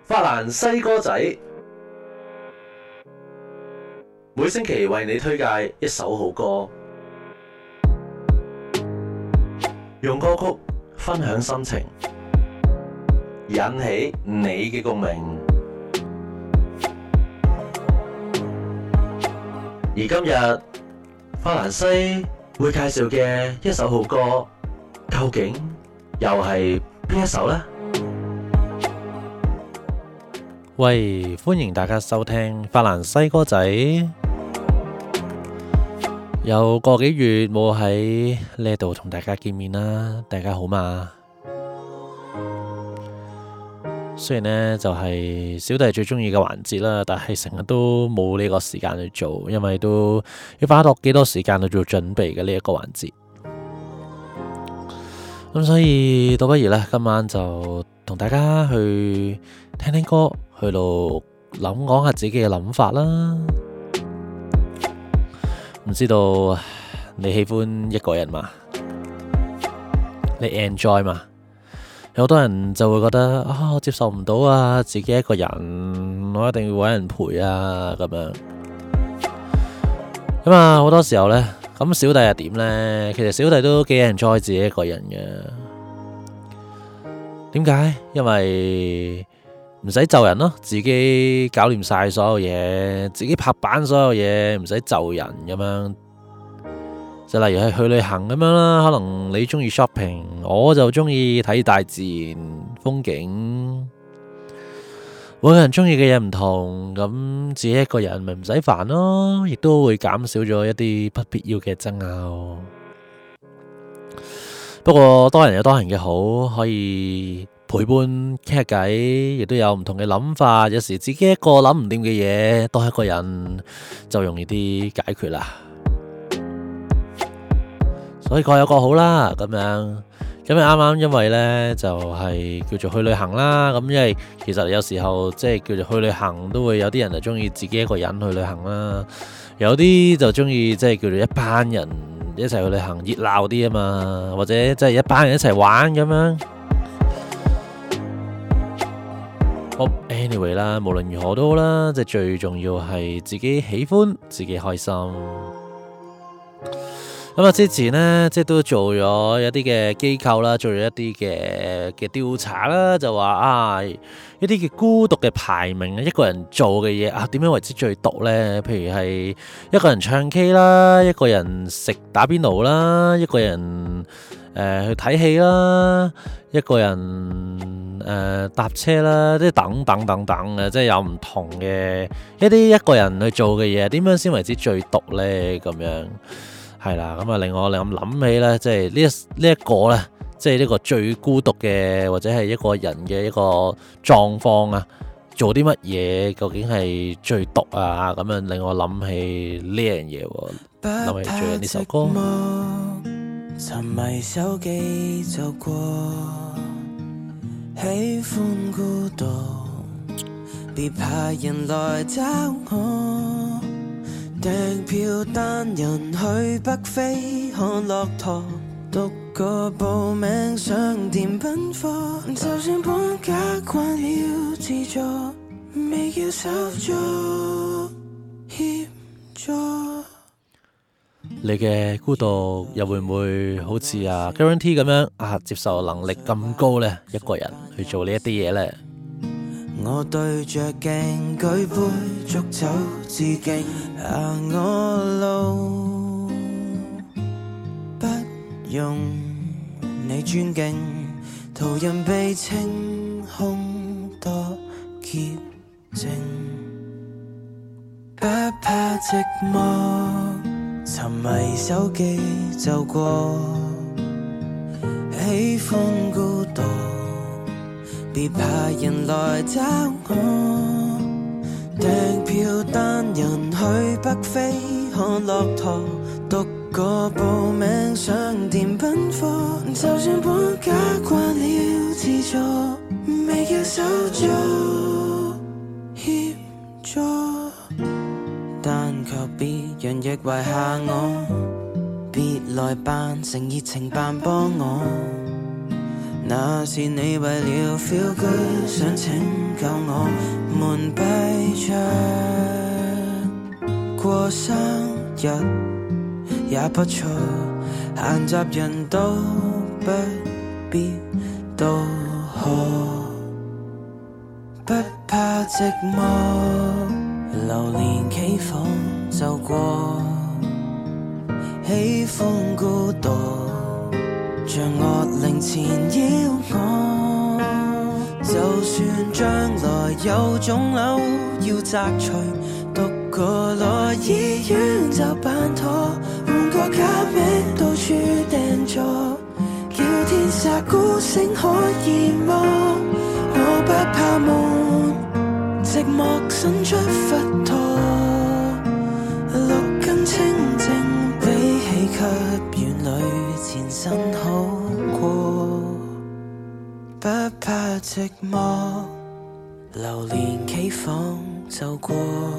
法蘭西歌仔每星期為你推介一首好歌，用歌曲分享心情，引起你嘅共鳴。而今日法蘭西會介紹嘅一首好歌，究竟又係邊一首呢？ 喂，歡迎大家收聽法蘭西歌仔。有個幾月冇喺呢度同大家見面啦，大家好嘛？雖然呢就係小弟最中意嘅環節啦，但係成日都冇呢個時間去做，因為都要花多幾多時間去做準備嘅呢一個環節。咁所以倒不如呢，今晚就同大家去聽聽歌，去到講下自己嘅諗法啦。唔知道你喜歡一個人嘛？你 enjoy 嘛？有好多人就會覺得我接受唔到啊，自己一個人，我一定要搵人陪啊，咁樣。咁啊，好多時候呢，咁小弟係點呢？其實小弟都幾 enjoy 自己一個人嘅。點解？因為唔使就人咯，自己搞掂晒所有嘢，自己拍板所有嘢，唔使就人咁樣。就例如係去旅行咁樣啦，可能你中意 shopping， 我就中意睇大自然風景。每個人中意嘅嘢唔同，咁自己一個人咪唔使煩咯，亦都會減少咗一啲不必要嘅爭拗。不過多人有多人嘅好，可以陪伴傾下偈，亦都有唔同嘅諗法。有時自己一個諗唔掂嘅嘢，多一個人就容易啲解決啦。所以各有各好啦，咁樣。咁啱啱因為呢，就係叫做去旅行啦。咁因為其實有時候即係叫做去旅行，都會有啲人就中意自己一個人去旅行啦。有啲就中意即係叫做一班人一齊去旅行，熱鬧啲啊嘛。或者即係一班人一齊玩咁樣。好，anyway 啦，無論如何都好啦，即係最重要係自己喜歡，自己開心。咁啊，之前呢，即係都做咗一啲嘅機構啦，做咗一啲嘅調查啦，就話一啲嘅孤獨嘅排名，一個人做嘅嘢點樣為之最獨呢？譬如係一個人唱 K 啦，一個人食打邊爐啦，一個人去睇戲啦，一個人搭車啦，即係等等等等嘅，即係有唔同嘅一個人去做嘅嘢，點樣先為之最獨呢？咁樣。係啦，咁啊令我諗起咧，即係呢一個咧，即係呢個最孤獨嘅或者係一個人嘅一個狀況啊，做啲乜嘢究竟係最獨啊？咁樣令我諗起呢樣嘢，諗起最近呢首歌。 沉迷手機就過，喜歡孤獨，別怕人來找我。訂票單人去北非看駱駝，獨個報名上甜品課，就算綁架慣了自助，未要手足協助。 你嘅孤獨又會唔會好似Guarantee 咁樣接受能力咁高呢？一個人去做呢一啲嘢呢？ 我對着鏡舉杯祝酒致敬，我路不用你尊敬，途人被清空多潔淨，不怕寂寞，沉迷手機就過，喜歡孤獨，別怕人來找我，訂票單人去北非看駱駝，獨個報名上甜品課，就算綁架慣了自助，未叫手足協助，但卻別人亦遺下我，別來扮成熱情扮幫我。 那是你為了 feel good 想拯救我們閉着過生日也不錯，閒雜人都不必都好，不怕寂寞，流連企房就過，喜歡孤獨像惡靈纏繞我，就算將來有腫瘤要摘除，獨個來醫院就辦妥，換個假名到處訂座，叫天煞孤星可以麼？我不怕悶，寂寞伸出佛陀，六根清淨比起給院裏前身好過，不怕寂寞，流連企房就過，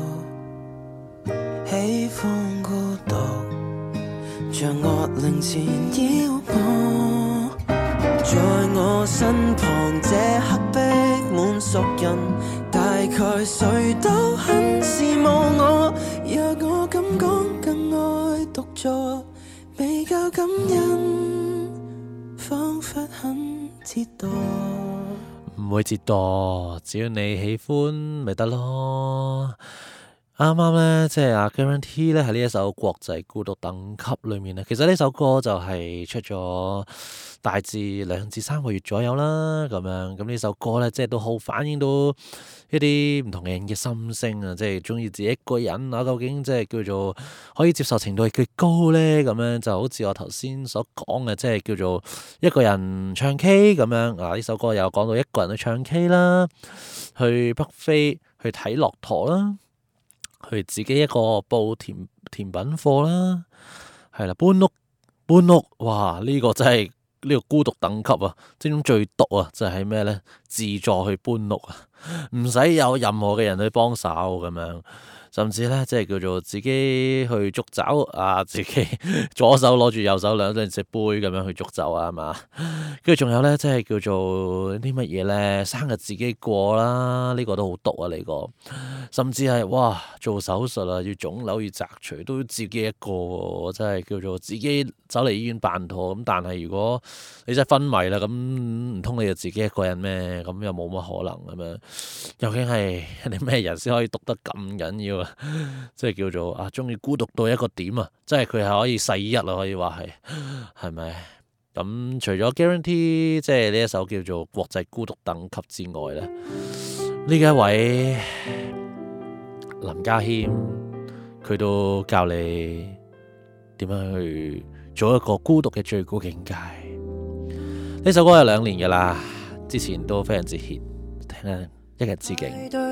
喜歡孤獨像惡靈纏繞我，在我身旁這刻逼滿熟人，大概誰都很羨慕我，若我敢講更愛獨坐，未夠感恩，彷彿很折墮。 唔會折墮，只要你喜歡咪得咯。啱啱呢，即係阿 Guarantee 咧喺呢一首國際孤獨等級裏面咧，其實呢首歌就係出咗大致2至3個月左右啦，咁樣咁呢首歌咧，即係都好反映到一啲唔同嘅人嘅心聲啊，即係中意自己一個人啊，究竟即係叫做可以接受程度係幾高咧？咁樣就好似我頭先所講嘅，即係叫做一個人唱 K 咁樣啊。呢首歌有講到一個人去唱 K 啦，去北非去睇駱駝啦。去自己一個報甜品課啦，係啦，搬屋，哇！呢個真係呢個孤獨等級啊，即係最毒啊，就係咩咧？自助去搬屋啊，唔使有任何嘅人去幫手咁樣。甚至咧，即係叫做自己去捉酒啊，自己左手攞住右手兩隻杯咁樣去捉酒啊，係嘛？跟住仲有咧，即係叫做啲乜嘢咧？生日自己過啦，呢個都好毒啊！呢個甚至係哇，做手術啊，要腫瘤要摘除都要自己一個，真係叫做自己走嚟醫院辦妥。咁但係如果你真係昏迷啦，咁唔通你就自己一個人咩？咁又冇乜可能咁樣。究竟係你咩人先可以毒得咁緊要？即係叫做啊，中意孤獨到一個點啊！即係佢係可以世一啊，可以話係咪？咁除咗 Guarantee 即係呢一首叫做國際孤獨等級之外咧，呢一位林家謙佢都教你點樣去做一個孤獨嘅最高境界。呢首歌有2年噶啦，之前都非常之 hit， 聽下一日之境。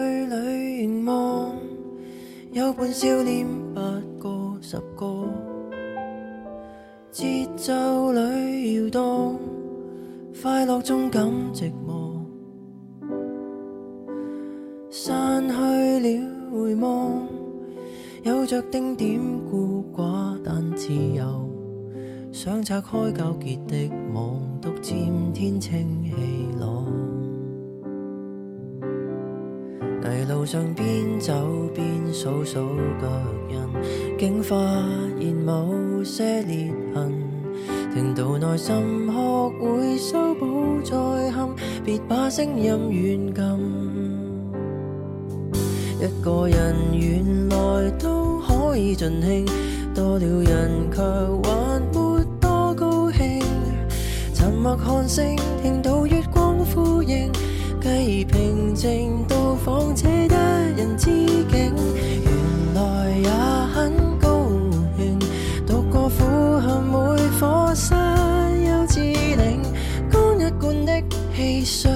有半笑臉8個10個，節奏裏搖動，快樂中感寂寞，散去了回望，有着丁點孤寡但自由，想拆開糾結的網，獨佔天清氣朗。泥路上邊走邊數數腳印，竟發現某些裂痕，聽到內心學會修補再憾，別把聲音軟禁。一個人原來都可以盡興，多了人卻還沒多高興，沉默看星，聽到月光呼應，繼而平靜到訪這一人之境，原來也很高興，獨個俯瞰每顆山丘之嶺，乾一罐的汽水，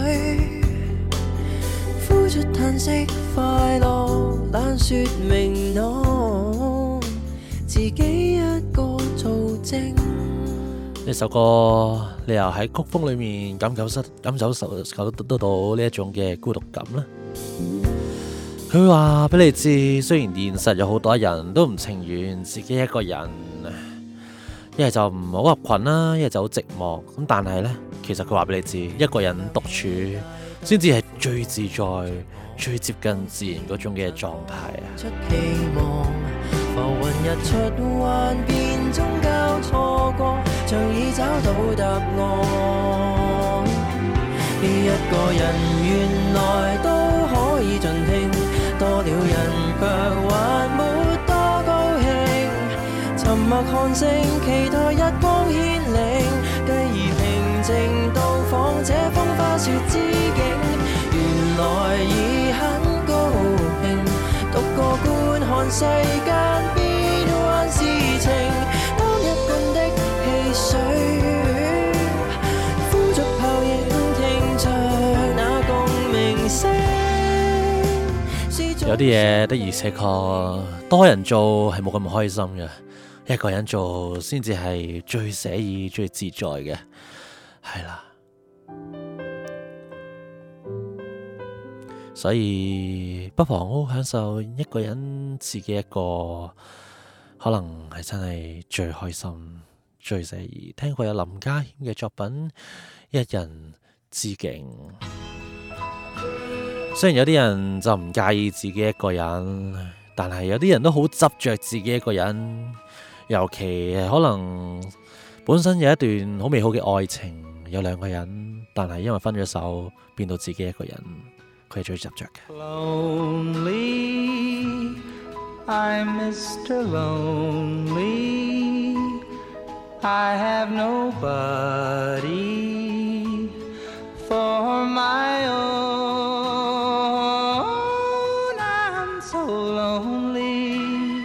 呼出嘆息，快樂懶說明朗，自己一個做證。 呢首歌你又喺曲風裏面感受得到呢一種嘅孤獨感啦。佢話俾你知，雖然現實有好多人都唔情願自己一個人， 一係就唔好合群啦，一係就好寂寞。咁但係呢，其實佢話俾你知，一個人獨處先至係最自在、最接近自然嗰種嘅狀態啊！ 出期望浮雲日出幻變中交錯過，像已找到答案。一個人原來都可以盡興，多了人卻還沒多高興。沉默看星，期待日光牽領，繼而平靜到訪這風花雪之境。原來已很高興，獨個觀看世間變幻事情，當一半的汽水呼着泡影，聽着那共鳴聲。 有啲嘢的而且確多人做係冇咁開心嘅，一個人做先至係最寫意、最自在嘅，係啦。所以不妨好享受一個人自己一個，可能係真係最開心、最寫意。聽過有林家謙嘅作品《一人之境》，雖然有啲人就唔介意自己一個人，但係有啲人都好執着自己一個人，尤其係可能本身有一段好美好嘅愛情，有兩個人，但係因為分咗手，變到自己一個人。佢係最執着嘅。 Lonely, I'm Mr. Lonely. I have nobody for my own. I'm so lonely.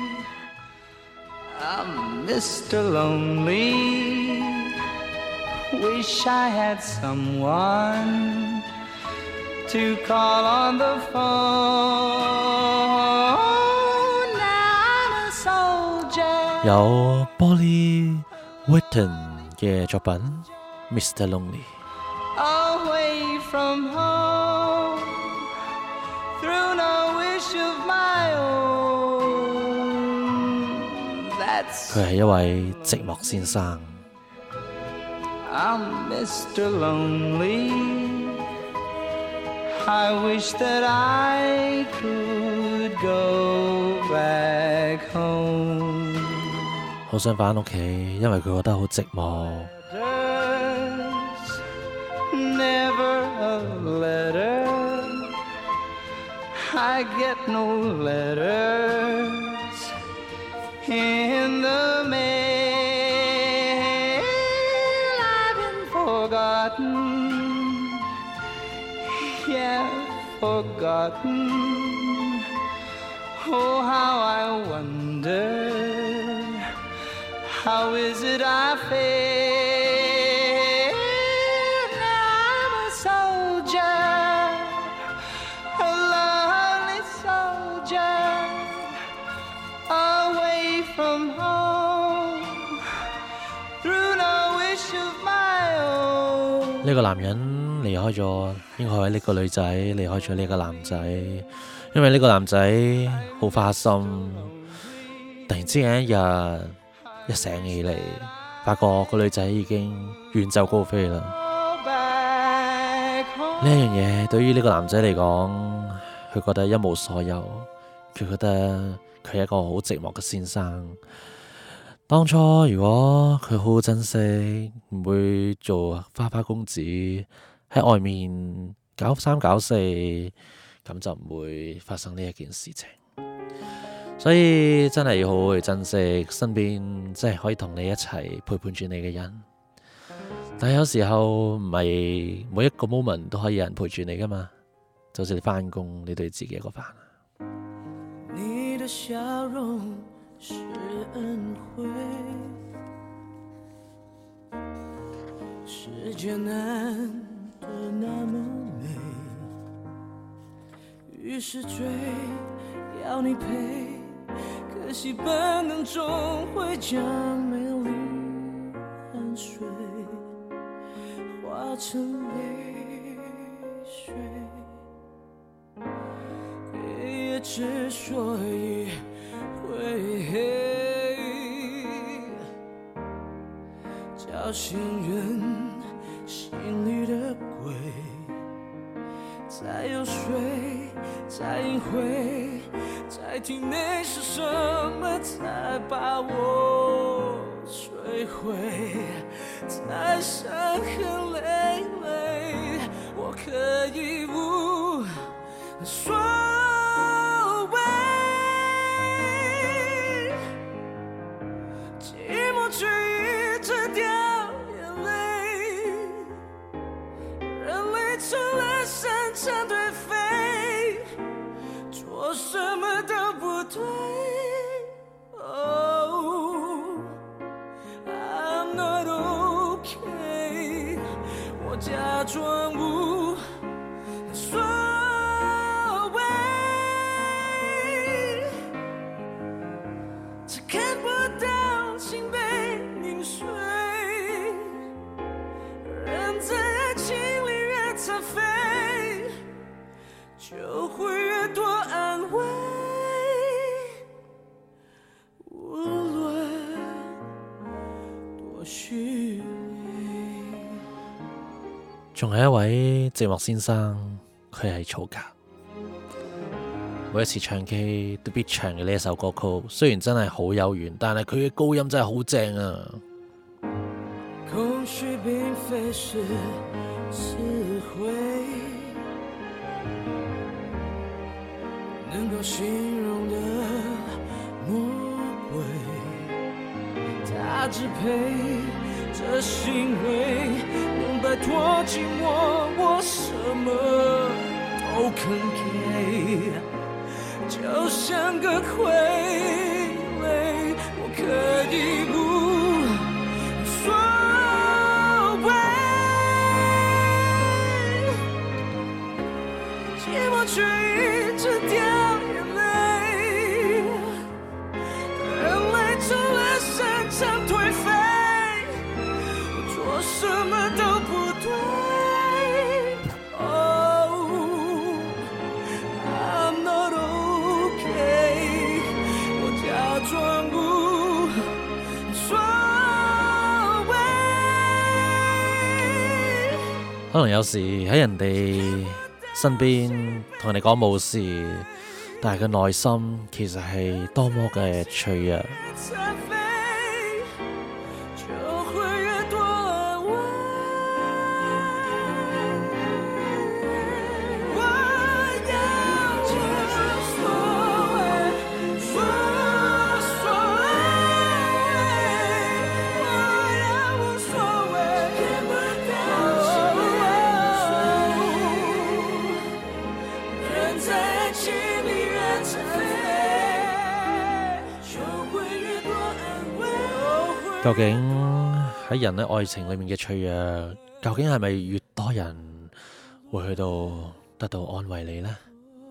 I'm Mr. Lonely. Wish I had someone.To call on the phone. I'm a soldier. 有 Bolly Whitton 嘅作品 Mr. Lonely。 Away from home, through no wish of my own. That's 佢係一位寂寞先生。 I'm Mr. Lonely.I wish that I could go back home. 好想返屋企，因為佢覺得好寂寞。 Never a letter. I get no letters in the mail. I've been forgotten.Yeah, forgotten. Oh, how I wonder. How is it I feel? Now I'm a soldier, a lonely soldier, away from home, through no wish of my own. 呢個男人離開咗，應該係呢個女仔離開咗呢個男仔，因為呢個男仔好花心，突然之間一日一醒起嚟，發覺個女仔已經遠走高飛啦。呢一樣嘢對於呢個男仔嚟講，佢覺得一無所有，佢覺得佢係一個好寂寞嘅先生。當初如果佢好好珍惜，唔會做花花公子喺外面搞三搞四，咁就唔會發生呢一件事情。所以真係要好好去珍惜身邊即係可以同你一齊陪伴住你嘅人。但係有時候唔係每一個 moment 都可以有人陪住你噶嘛，就好似你返工，你都要自己一個返。 你的笑容是恩惠，世界難得那麼美，於是追要你陪，可惜本能終會將美麗汗水化成淚水，也之所以會黑， 叫醒人心裡的鬼，在遊說，在隱晦，在體內是什麼才把我摧毀？在傷痕累累，我可以無所謂，寂寞卻一直掉眼淚，人類成了擅長頹廢，做什麼都不對。I'm not okay， 我假裝無所謂，只看不到心被凝碎，人在愛情裡越殘廢，就會越多安慰，無論多虛偽。 仲有一位寂寞先生，佢係曹格。每一次唱 K 都必唱嘅呢一首歌曲，雖然真係好有緣，但係佢嘅高音真係好正啊！ 空虛並非是詞彙，能夠形容的魔鬼，它支配這行為，能擺脫寂寞，我什麼都肯給，就像個傀儡，我可以無所謂，寂寞卻一直掉眼淚，人類成了擅長頹廢，做什麼都不對。I'm not okay， 我假裝無所謂。 可能有時喺人哋身邊同人哋講冇事，但係佢內心其實係多麼嘅脆弱。究竟喺人嘅愛情裏面嘅脆弱，究竟係咪越多人會去到得到安慰你呢？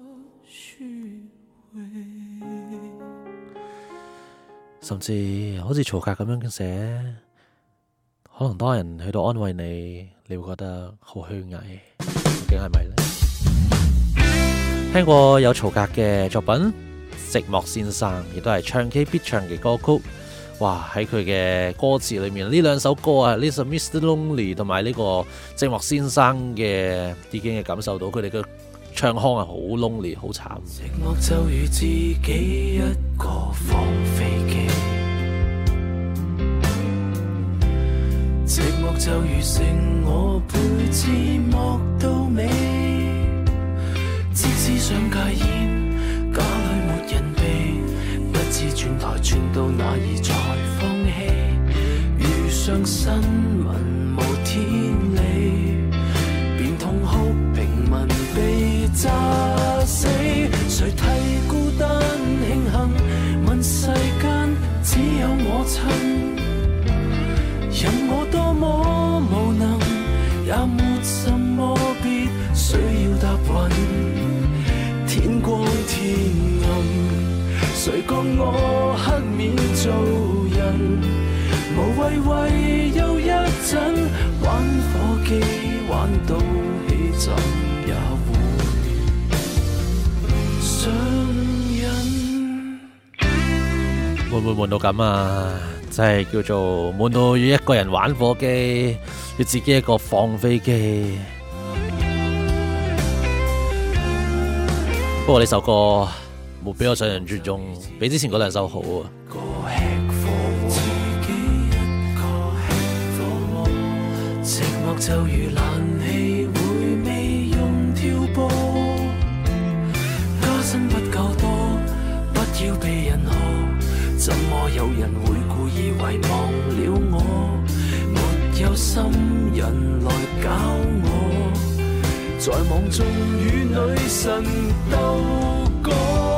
甚至好似曹格咁樣寫，可能多人去到安慰你，你會覺得好虛偽，究竟係咪呢？聽過有曹格嘅作品《寂寞先生》，亦都係唱 K 必唱嘅歌曲。哇！喺佢嘅歌詞裏面，呢兩首歌啊，呢首 Mr. Lonely 同埋呢個寂寞先生嘅，已經係感受到佢哋嘅唱腔係好 lonely， 好慘。 寂寞就如自己一個放飛機，寂寞就如剩我陪寂寞到尾，即使想戒煙，家裏沒人避。不知轉台轉到哪兒才放棄，遇上新聞無天理，便痛哭平民被炸死。誰替孤單慶幸，問世間只有我親，任我多麼無能，也沒什麼必須要答允。天光天暗，誰覺我黑面做人，無謂為又一陣玩火機，玩到起枕也會上癮。 會唔會悶到咁啊？ 真係叫做悶到要一個人玩火機，要自己一個放飛機。不過呢首歌冇比我想象中，比之前嗰兩首好啊。 寂寞就如冷氣會未用跳波，加薪不夠多，不要被人喝，怎麼有人會故意遺忘了我？沒有心人來搞我，在網中與女神鬥過，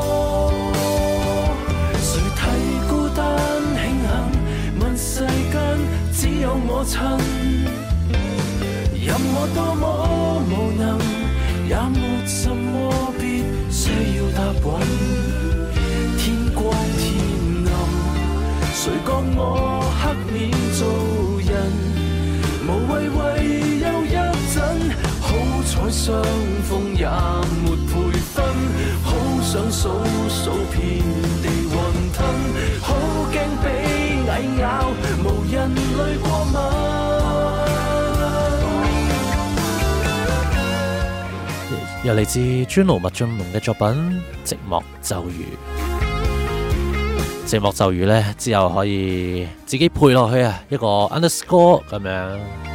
誰睇孤單慶幸，問世間只有我親。任我多麼無能，也沒什麼必須要答允。天光天暗，誰講我黑面做人？無謂為又一陣，好彩相逢也沒培訓，好想數數遍地雲吞，好驚被蟻咬，無人類過敏。 又嚟自專盧麥浚龍嘅作品《寂寞咒語》。寂寞咒語呢，之後可以自己配落去啊，一個 underscore 咁樣。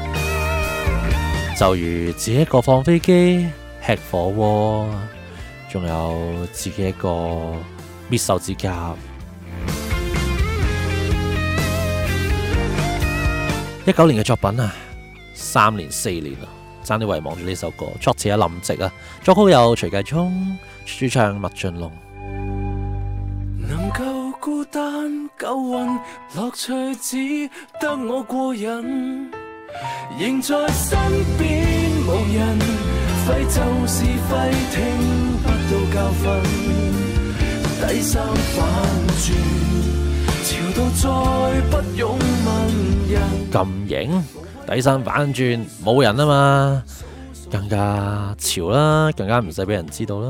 就如自己一個放飛機、吃火鍋，仲有自己一個搣手指甲。19年嘅作品啊，3年4年啊。爭啲遺忘住呢首歌，作詞係林夕啊，作曲有徐繼聰，主唱麥浚龍。 能夠孤單夠運，樂趣只得我個人，仍在身邊無人，廢就是廢，聽不到教訓，低三反轉，潮到再不用問人。 咁型？底衫反轉冇人啊嘛，更加潮啦，更加唔使俾人知道啦。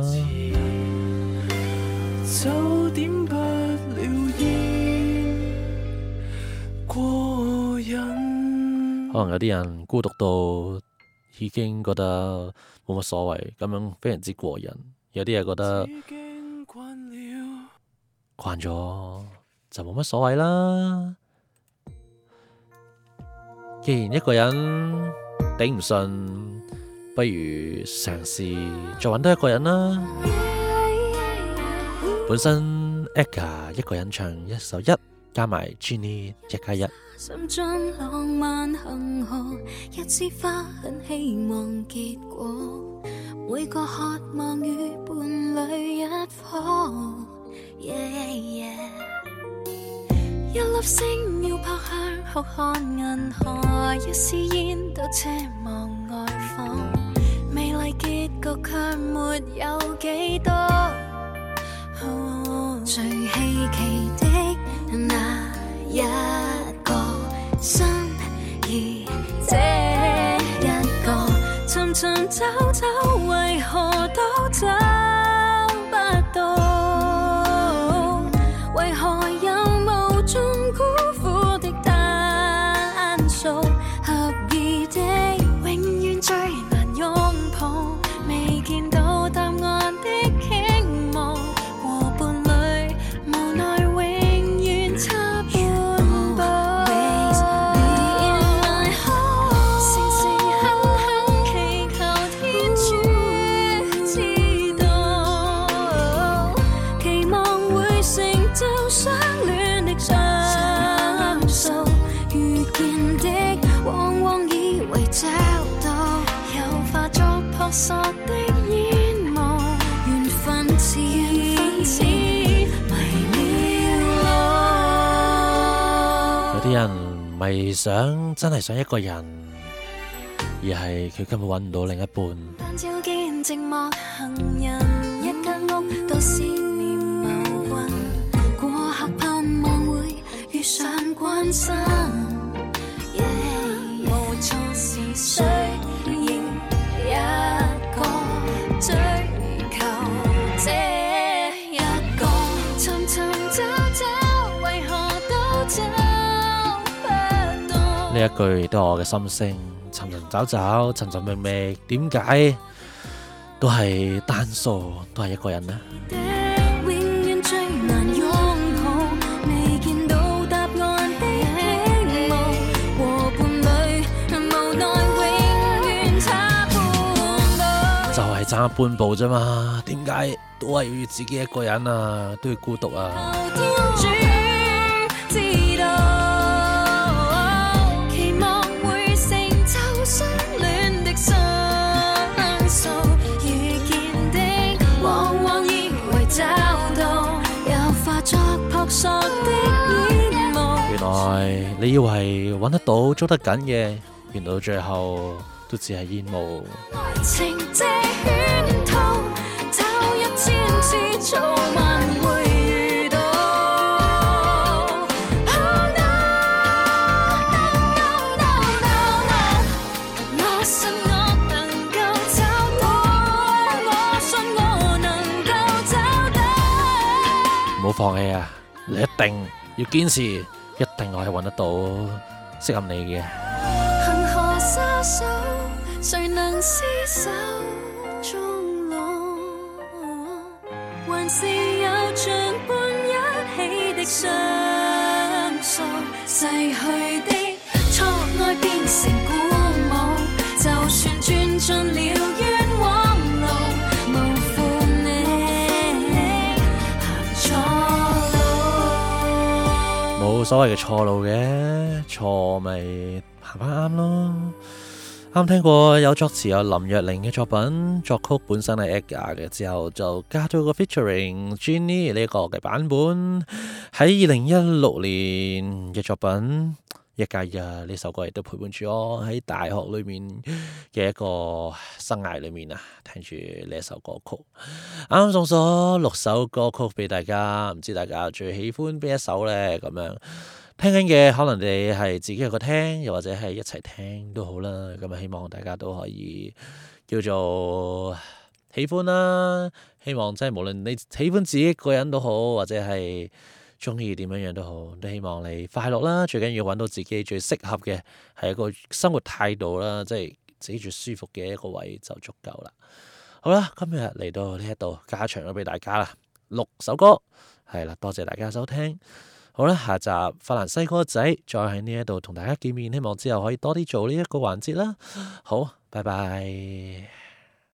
就點不了煙過癮。 可能有啲人孤獨到已經覺得冇乜所謂，咁樣非常之過癮。有啲人覺得慣咗就冇乜所謂啦。既然一個人頂唔順，不如嘗試再揾多一個人啦。本身 Eka 一個人唱一首1，加埋 Jenny 1+1。 心中浪漫恆河，一枝花很希望結果，每個渴望與伴侶一顆。一粒星要撲向浩瀚銀河，一絲煙都奢望外放，美麗結局卻沒有幾多。最稀奇的那一個心意，這一個尋尋找找，為何都找不到？為何有無盡辜負的單數？合意的永遠最難擁抱，未見到答案的傾慕，和伴侶無奈永遠差半步。時時刻刻祈求天主知道，期望會成就相戀的雙數，遇見的往往以為找到，又化作撲朔的煙霧，緣分似迷了路。 有啲人唔係真係想一個人，而係佢根本揾唔到另一半。 但照見寂寞行人，一間屋都思念謀魂，過客盼望會遇上關心。無錯是誰認一個追求這一個，尋尋找找，為何都找呢一句亦都係我嘅心聲，尋尋找找，尋尋覓覓，點解都係單數，都係一個人呢？ 永遠最難擁抱，未見到答案的希望，和伴侶無奈永遠差半步， 就係差半步啫嘛，點解都係要自己一個人啊，都要孤獨啊？原來你以為揾得到捉得緊嘅，原來到最後都只係煙霧。 情這圈套，找1000次早晚會遇到。Oh no no no no no， 我信我能夠找到，我信我能夠找到。 唔好放棄啊！你一定要堅持，一定可以揾得到適合你嘅。 恆河沙手，誰能廝守終老？還是有像伴一起的相數，逝去的錯愛變成鼓舞，就算轉進了冤枉路，無負你行錯路。 冇所謂嘅錯路嘅，錯咪行翻啱咯。啱聽過有作詞有林若寧嘅作品，作曲本身係 Edgar 嘅，之後就加咗個 featuring Jenny 呢個嘅版本。喺2016年嘅作品《一加一》呢首歌亦都陪伴住我喺大學裏面嘅一個生涯裏面啊，聽住呢一首歌曲。啱啱送咗6首歌曲俾大家，唔知大家最喜歡邊一首呢？咁樣聽緊嘅可能你係自己一個聽，又或者係一齊聽都好啦。咁啊，希望大家都可以叫做喜歡啦。希望即係無論你喜歡自己一個人都好，或者係中意點樣樣都好，都希望你快樂啦。最緊要揾到自己最適合嘅係一個生活態度啦，即係自己最舒服嘅一個位就足夠啦。好啦，今日嚟到呢一度加長咗俾大家啦，6首歌係啦，多謝大家收聽。好啦，下集法蘭西歌仔再喺呢一度同大家見面，希望之後可以多啲做呢一個環節啦。好，拜拜。